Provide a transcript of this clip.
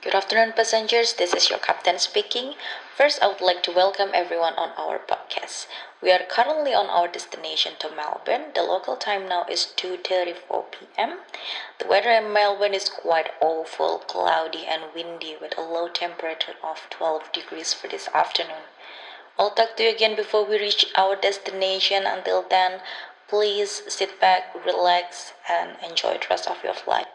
Good afternoon, passengers. This is your captain speaking. First, I would like to welcome everyone on our podcast. We are currently on our destination to Melbourne. The local time now is 2:34 p.m. The weather in Melbourne is quite awful, cloudy and windy with a low temperature of 12 degrees for this afternoon. I'll talk to you again before we reach our destination. Until then, please sit back, relax, and enjoy the rest of your flight.